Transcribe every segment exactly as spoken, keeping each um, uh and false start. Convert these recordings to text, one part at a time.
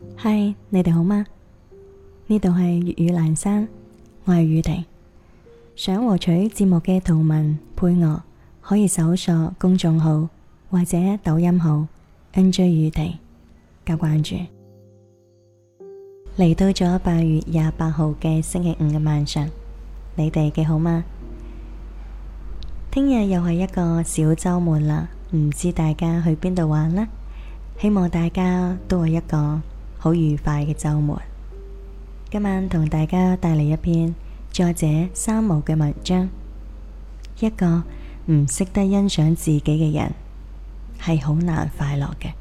嗨，你哋好嗎？呢度係粵語闌珊，我係宇婷。想獲取節目嘅圖文配樂，可以搜索公眾號或者抖音號 N J 宇婷加關注。嚟到咗八月廿八號嘅星期五嘅晚上，你哋幾好嗎？聽日又係一個小周末啦，唔知大家去邊度玩呢？希望大家都係一個好愉快嘅周末。今晚同大家帶嚟一篇作者三毛嘅文章。一個唔識得欣賞自己嘅人，係好難快樂嘅。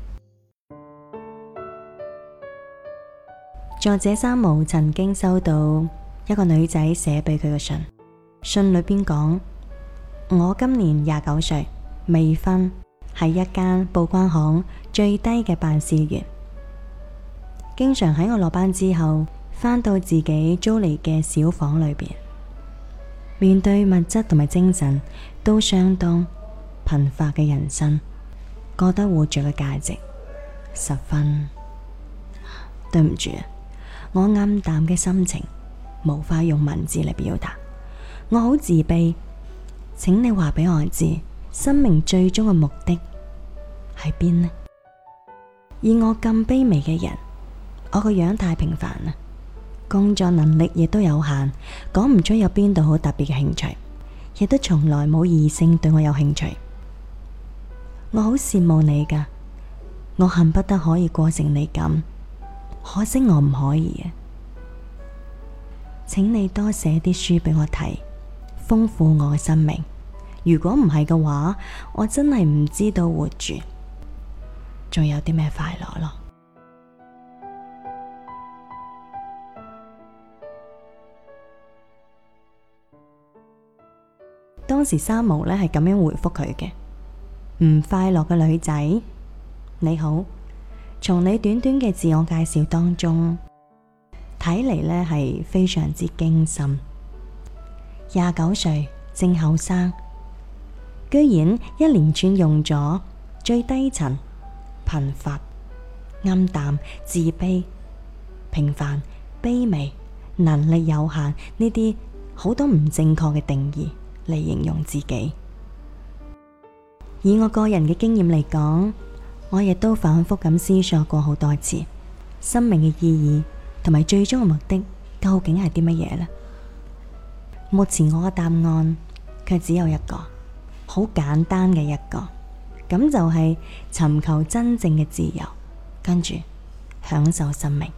作者三毛曾經收到一個女仔寫俾佢嘅信，信裏邊講：我今年廿九歲，未婚，係一間報關行最低嘅辦事員，經常喺我落班之後返到自己租嚟嘅小房裏邊，面對物質同埋精神都相當貧乏嘅人生，覺得活着嘅價值十分……對唔住啊，我暗淡嘅心情無法用文字嚟表達，我好自卑，請你話俾我知，生命最終嘅目的喺邊呢？而我咁卑微嘅人，我個樣太平凡啦，工作能力亦都有限，講唔出有邊度好特別嘅興趣，亦都從來冇異性對我有興趣。我好羨慕你㗎，我恨不得可以過成你咁，可惜我唔可以啊！請你多寫啲書俾我睇，豐富我嘅生命。如果唔係嘅話，我真係唔知道活住仲有啲咩快樂咯。當時三毛呢係咁樣回覆佢嘅：唔快樂嘅女仔，你好，從你短短嘅自我介紹當中睇嚟呢係非常之驚心。廿九歲正後生，居然一連串用咗最低層、貧乏、暗淡、自卑、平凡、卑微、能力有限呢啲好多唔正確嘅定義嚟形容自己。以我個人嘅經驗嚟講，我亦都反覆咁思索過好多次，生命嘅意義同埋最終嘅目的究竟係啲乜嘢呢？目前我嘅答案卻只有一個，好簡單嘅一個，咁就係尋求真正嘅自由，跟住享受生命。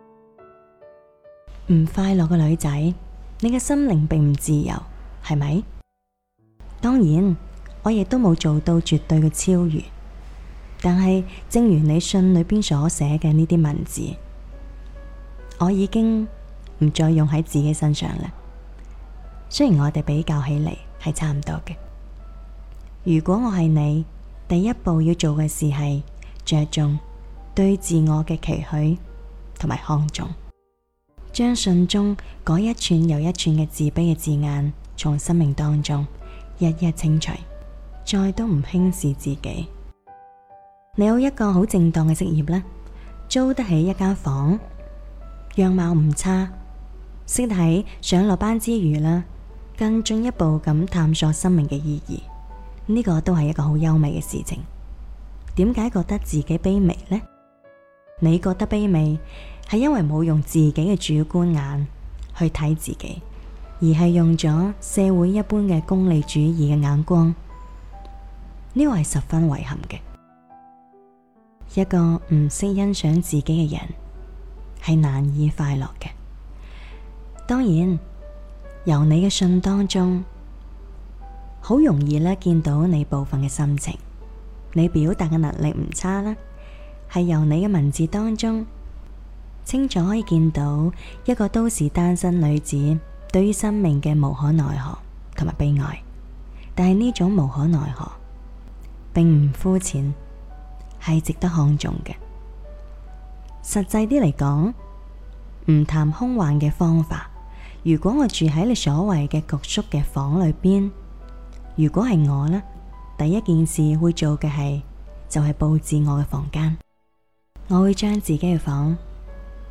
唔快樂嘅女仔，你嘅心靈並唔自由，係咪？當然，我亦都冇做到絕對嘅超越，但係正如你信裏邊所寫嘅呢啲文字，我已經唔再用喺自己身上啦。雖然我哋比較起嚟係差唔多嘅。如果我係你，第一步要做嘅事係着重對自我嘅期許同埋看重，將信中嗰一串又一串嘅自卑嘅字眼從生命當中一一清除，再都唔輕視自己。你有一個好正當嘅職業啦，租得起一間房，樣貌唔差，識得喺上落班之餘啦，更進一步咁探索生命嘅意義，呢個都係一個好優美嘅事情。點解覺得自己卑微呢？你覺得卑微係因為冇用自己嘅主觀眼去睇自己，而係用咗社會一般嘅功利主義嘅眼光，呢個係十分遺憾嘅。一個唔識欣賞自己嘅人係難以快樂嘅。當然，由你嘅信當中好容易咧見到你部分嘅心情，你表達嘅能力唔差啦，係由你嘅文字當中清楚可以見到一個都市單身女子對於生命嘅無可奈何同埋悲哀。但係呢種無可奈何並唔膚淺，係值得看重嘅。實際啲嚟講，唔談空幻嘅方法，如果我住喺你所謂嘅局促嘅房裏邊，如果係我呢，第一件事會做嘅係就係佈置我嘅房間。我會將自己嘅房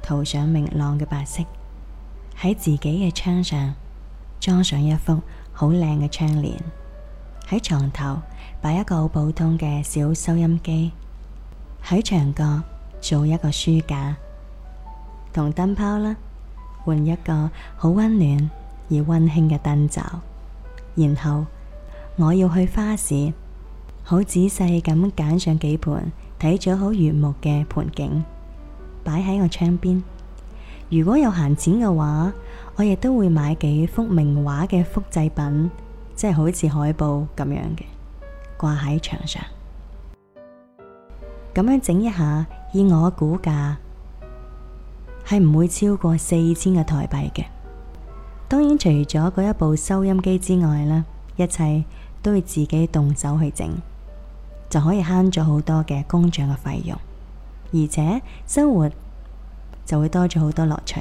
塗上明朗嘅白色，喺自己嘅窗上裝上一幅好靚嘅窗簾，喺床頭擺一個好普通嘅小收音機，喺牆角做一個書架，同燈泡啦換一個好溫暖而溫馨嘅燈罩。然後我要去花市，好仔細咁揀上幾盆睇咗好悅目嘅盆景，擺喺我窗邊。如果有閒錢嘅話，我亦都會買幾幅名畫嘅複製品，即係好似海報咁樣嘅，掛喺牆上。咁樣整一下，以我估價係唔會超過四千個台幣嘅。當然除咗嗰一部收音機之外啦，一切都要自己動手去整，就可以慳咗好多嘅工匠嘅費用，而且生活就會多咗好多樂趣。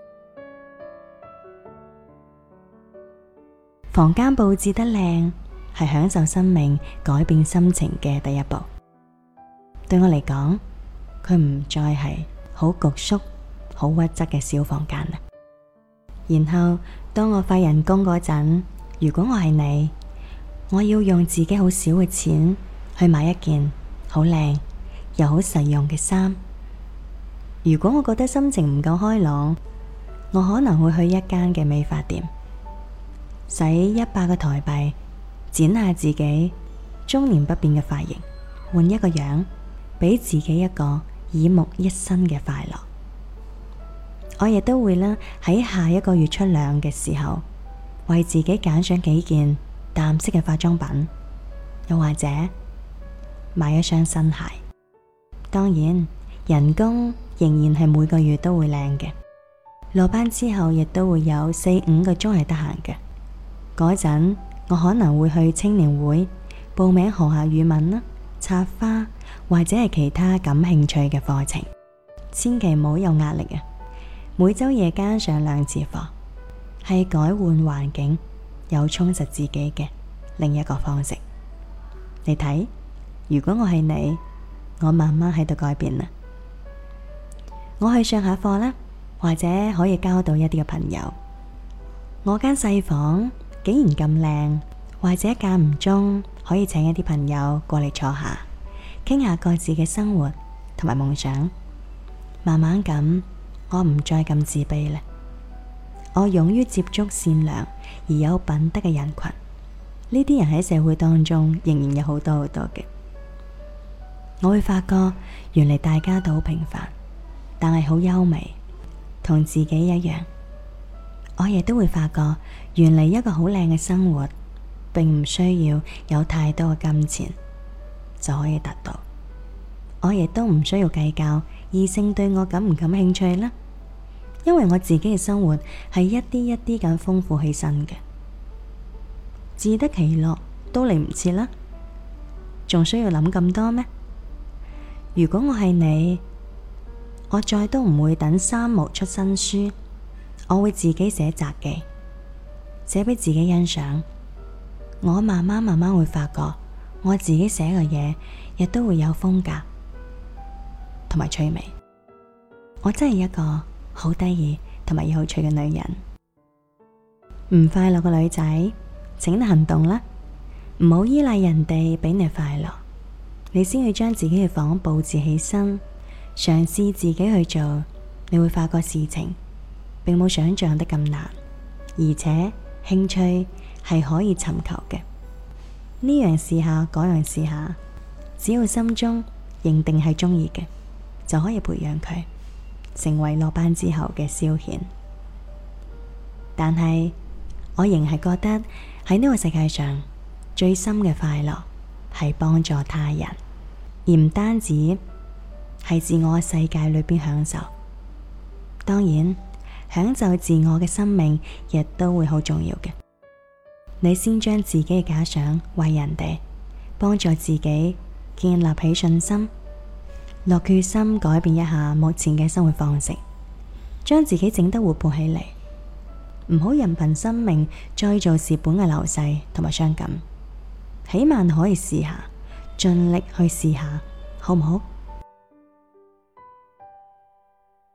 房間佈置得靚，係享受生命、改變心情嘅第一步。對我嚟講，佢唔再係好局促、好屈質嘅小房間啦。然後當我發人工嗰陣，如果我係你，我要用自己好少嘅錢去買一件好靚又好實用嘅衫。如果我覺得心情唔夠開朗，我可能會去一間嘅美髮店，使一百個台幣剪下自己中年不變嘅髮型，換一個樣，俾自己一個耳目一新嘅快樂。我亦都會啦，喺下一個月出糧嘅時候，為自己揀上幾件淡色嘅化妝品，又或者買一雙新鞋。當然，人工仍然係每個月都會領嘅。落班之後亦都會有四五個鐘係得閒嘅。嗰陣我可能會去青年會報名學下語文啦、插花或者係其他感興趣嘅課程。千祈唔好有壓力啊！每周夜間上兩次課，係改換環境、有充實自己嘅另一個方式。你睇，如果我係你，我慢慢喺度改變啦。我去上下課啦，或者可以交到一啲嘅朋友。我間細房竟然咁靚，或者間唔中可以請一啲朋友過嚟坐下，傾下各自嘅生活同埋夢想。慢慢咁，我唔再咁自卑啦。我勇於接觸善良而有品德嘅人群，呢啲人喺社會當中仍然有好多好多嘅。我會發覺，原來大家都好平凡，但係好優美，同自己一樣。我亦都會發覺，原來一個好靚嘅生活，並唔需要有太多嘅金錢就可以達到。我亦都唔需要計較異性對我感唔感興趣啦，因為我自己嘅生活係一啲一啲咁豐富起身嘅，自得其樂都嚟唔切啦，仲需要諗咁多咩？如果我係你，我再都唔會等三毛出新書，我會自己寫雜記，寫俾自己欣賞。我慢慢慢慢會發覺，我自己寫嘅嘢亦都會有風格同埋趣味。我真係一個好得意同埋有趣嘅女人。唔快樂嘅女仔，請你行動啦，唔好依賴人哋俾你快樂，你先去將自己嘅房佈置起身，嘗試自己去做，你會發覺事情並冇想象得咁難，而且興趣係可以尋求嘅。呢樣試下，嗰樣試下，只要心中認定係中意嘅，就可以培養佢，成為落班之後嘅消遣。但係我仍係覺得喺呢個世界上最深嘅快樂係幫助他人，而唔單止係自我嘅世界裏邊享受。當然，享受自我嘅生命亦都會好重要嘅。你先將自己嘅假想為人哋，幫助自己建立起信心，落決心改變一下目前嘅生活方式，將自己整得活潑起嚟，唔好任憑生命再做蝕本嘅流逝同埋傷感。起碼可以試下，盡力去試下，好唔好？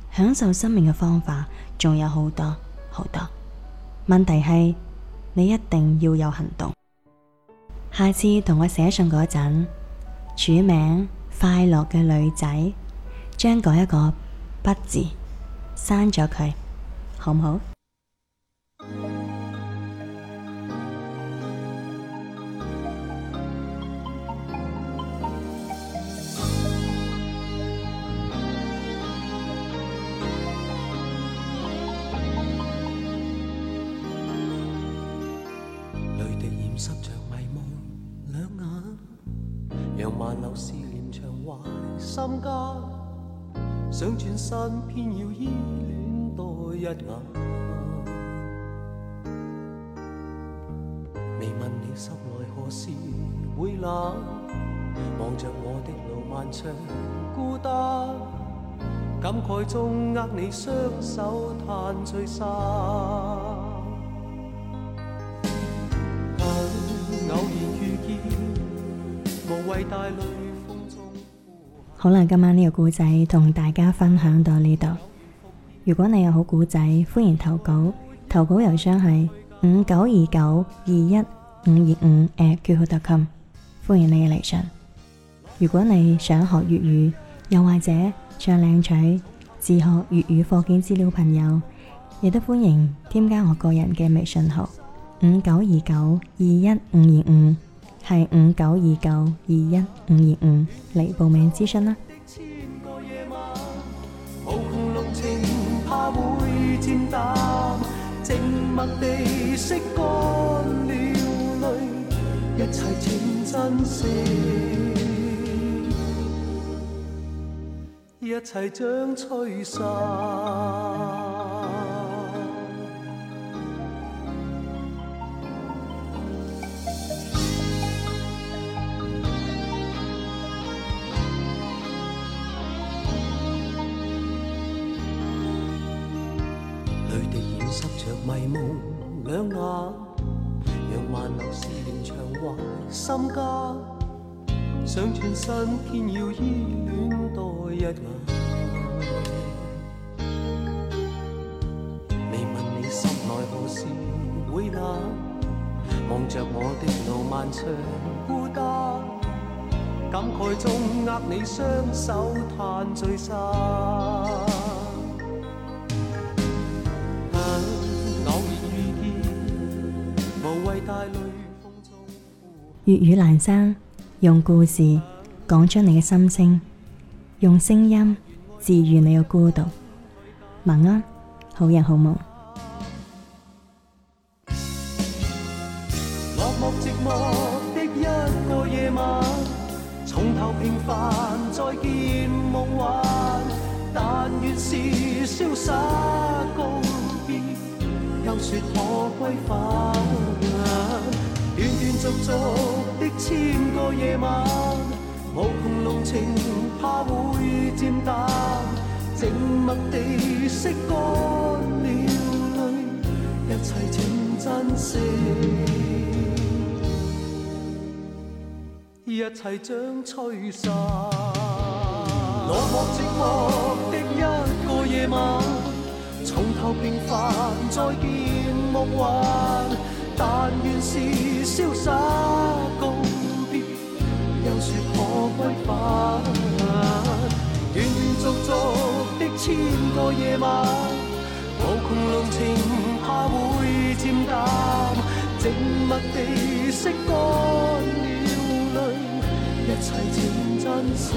享受生命嘅方法仲有好多好多，問題係你一定要有行動。下次同我寫信嗰陣，署名快樂嘅女仔，將嗰一個不字刪咗佢，好唔好？ 濕着迷蒙兩眼，讓萬流思念長懷心間，想轉身偏要依戀多一眼。未問你心內何時會冷，望着我的路漫長孤單，感慨中握你雙手嘆聚散。 好啦，今晚呢個故仔同大家分享到呢度。如果你有好故仔，歡迎投稿，投稿郵箱係五九二九二一五二五 at q q 點 com， 歡迎你嘅嚟信。如果你想學粵語，又或者想領取自學粵語課件資料，朋友亦都歡迎添加我個人嘅微信號五九二九二一五二五。係五九二九二一五二五嚟報名諮詢啦。 無窮濃情怕會漸淡，靜默地拭乾了淚，一切請珍惜，一切將吹散。濕着迷蒙兩眼，讓萬流思念長懷心間，想轉身偏要依戀多一眼。未問你心內何時會冷，望着我的路漫長孤單，感慨中握你雙手嘆聚散。 粵語闌珊，用故事講出你嘅心聲，用聲音治癒你嘅孤獨。晚安，好人好夢。 落寞寂寞的一個夜晚，從頭平凡再見夢幻，但願是瀟灑告別，又說可歸返。斷斷續續的千個夜晚，無窮濃情怕會漸淡，靜默地拭乾了淚，一切請珍惜，一切將吹散。落寞寂寞的一個夜晚，從頭平凡再見夢幻，但願是瀟灑告別，又說可歸返。斷斷續續的千個夜晚，無窮濃情怕會漸淡，靜默地拭乾了淚，一切請珍惜，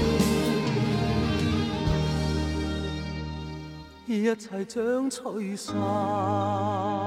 一切將吹散。